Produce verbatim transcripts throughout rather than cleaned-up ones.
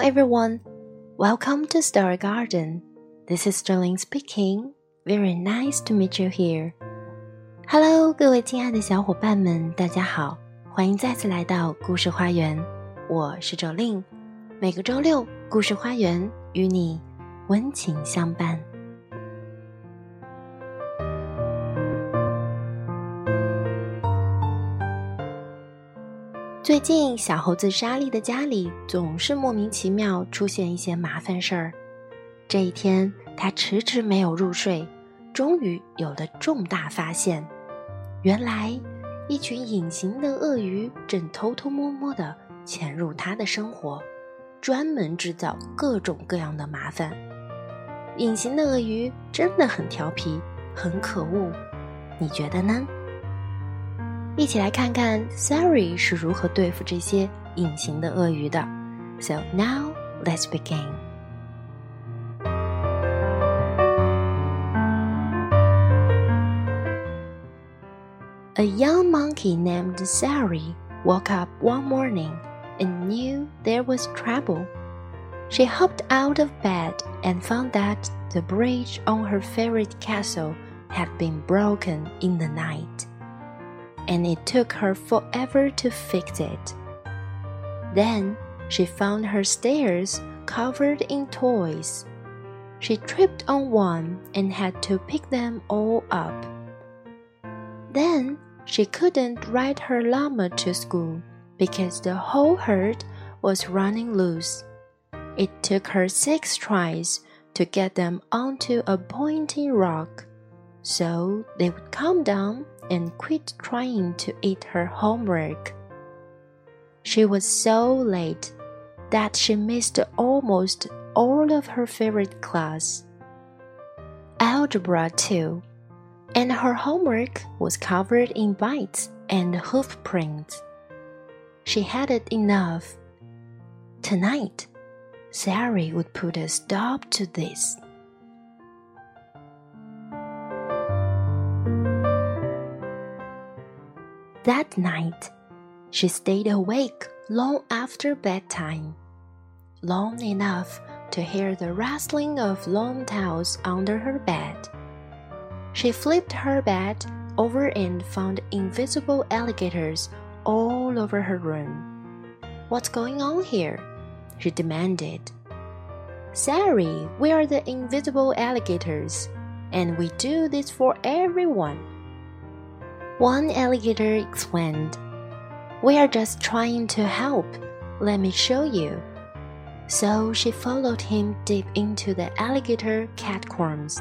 everyone, welcome to Story Garden. This is Sterling speaking. Very nice to meet you here. Hello, 各位亲爱的小伙伴们，大家好，欢迎再次来到故事花园。我是周令，每个周六，故事花园与你温情相伴。最近小猴子莎莉的家里总是莫名其妙出现一些麻烦事儿。这一天，她迟迟没有入睡，终于有了重大发现。原来，一群隐形的鳄鱼正偷偷摸摸地潜入她的生活，专门制造各种各样的麻烦。隐形的鳄鱼真的很调皮，很可恶，你觉得呢？一起来看看 Sari 是如何对付这些隐形的鳄鱼的。So now, let's begin. A young monkey named Sari woke up one morning and knew there was trouble. She hopped out of bed and found that the bridge on her favorite castle had been broken in the night.And it took her forever to fix it. Then she found her stairs covered in toys. She tripped on one and had to pick them all up. Then she couldn't ride her llama to school because the whole herd was running loose. It took her six tries to get them onto a pointy rock, so they would calm down.and quit trying to eat her homework. She was so late that she missed almost all of her favorite class, algebra too, and her homework was covered in bites and hoof prints. She had it enough. Tonight, Sari would put a stop to this.That night, she stayed awake long after bedtime, long enough to hear the rustling of long towels under her bed. She flipped her bed over and found invisible alligators all over her room. "What's going on here?" she demanded. "Sari, we are the invisible alligators, and we do this for everyone."One alligator explained, "We are just trying to help. Let me show you." So she followed him deep into the alligator catacombs.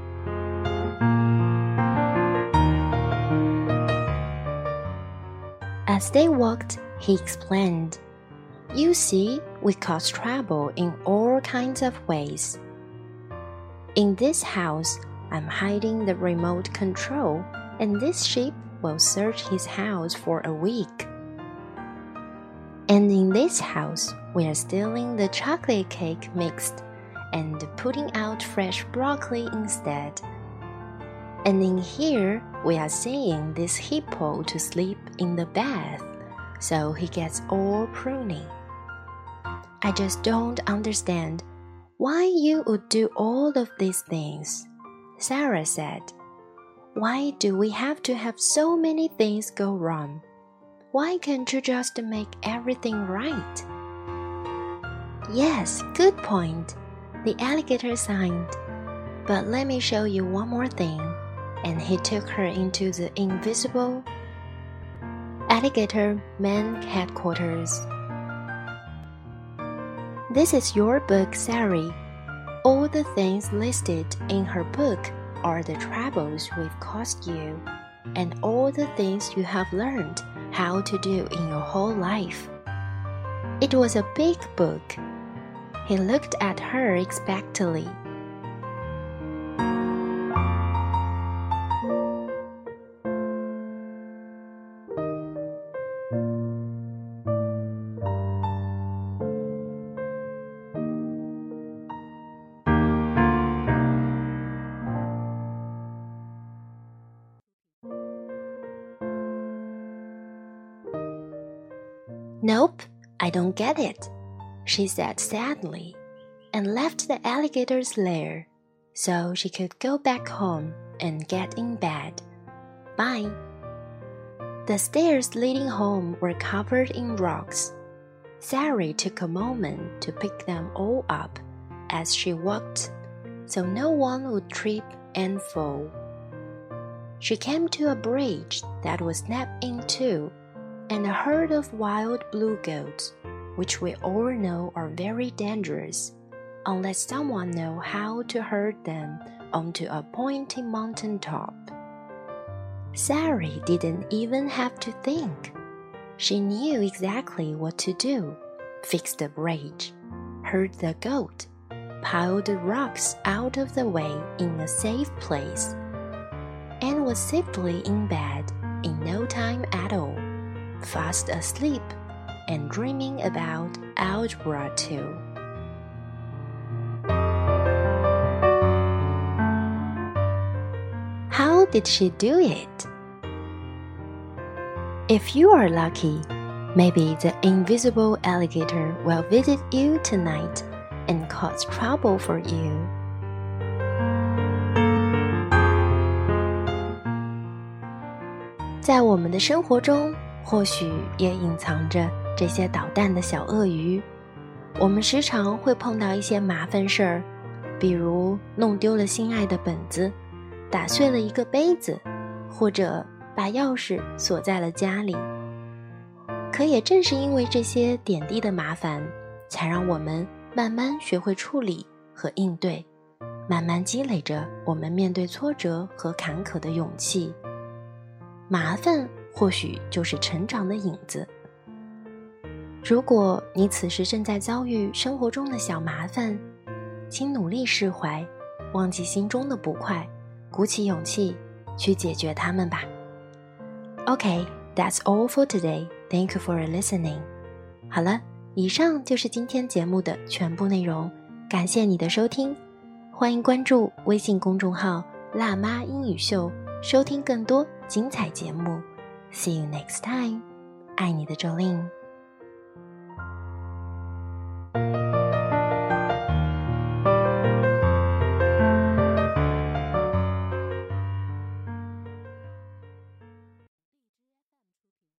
As they walked, he explained, "You see, we cause trouble in all kinds of ways. In this house, I'm hiding the remote control.And this sheep will search his house for a week. And in this house, we are stealing the chocolate cake mixed and putting out fresh broccoli instead. And in here, we are seeing this hippo to sleep in the bath, so he gets all pruny. I just don't understand why you would do all of these things," Sarah said.Why do we have to have so many things go wrong? Why can't you just make everything right? Yes, good point, the alligator signed. But let me show you one more thing. And he took her into the invisible alligator man headquarters. This is your book, Sari. All the things listed in her book.Are the troubles we've caused you, and all the things you have learned how to do in your whole life. It was a big book. He looked at her expectantly. Nope, I don't get it, she said sadly, and left the alligator's lair so she could go back home and get in bed. Bye. The stairs leading home were covered in rocks. Sari took a moment to pick them all up as she walked, so no one would trip and fall. She came to a bridge that was snapped in two, and a herd of wild blue goats, which we all know are very dangerous, unless someone knows how to herd them onto a pointy mountain top. Sari didn't even have to think. She knew exactly what to do. Fix the bridge, herd the goat, pile the rocks out of the way in a safe place, and was safely in bed in no time at all, fast asleep and dreaming about algebra too. How did she do it? If you are lucky, maybe the invisible alligator will visit you tonight and cause trouble for you. 在我们的生活中，或许也隐藏着这些捣蛋的小鳄鱼。我们时常会碰到一些麻烦事儿，比如弄丢了心爱的本子，打碎了一个杯子，或者把钥匙锁在了家里。可也正是因为这些点滴的麻烦，才让我们慢慢学会处理和应对，慢慢积累着我们面对挫折和坎坷的勇气。麻烦或许就是成长的影子。如果你此时正在遭遇生活中的小麻烦，请努力释怀，忘记心中的不快，鼓起勇气去解决它们吧。Okay, that's all for today. Thank you for listening. 好了，以上就是今天节目的全部内容，感谢你的收听。欢迎关注微信公众号辣妈英语秀，收听更多精彩节目。See you next time. 爱你的周令。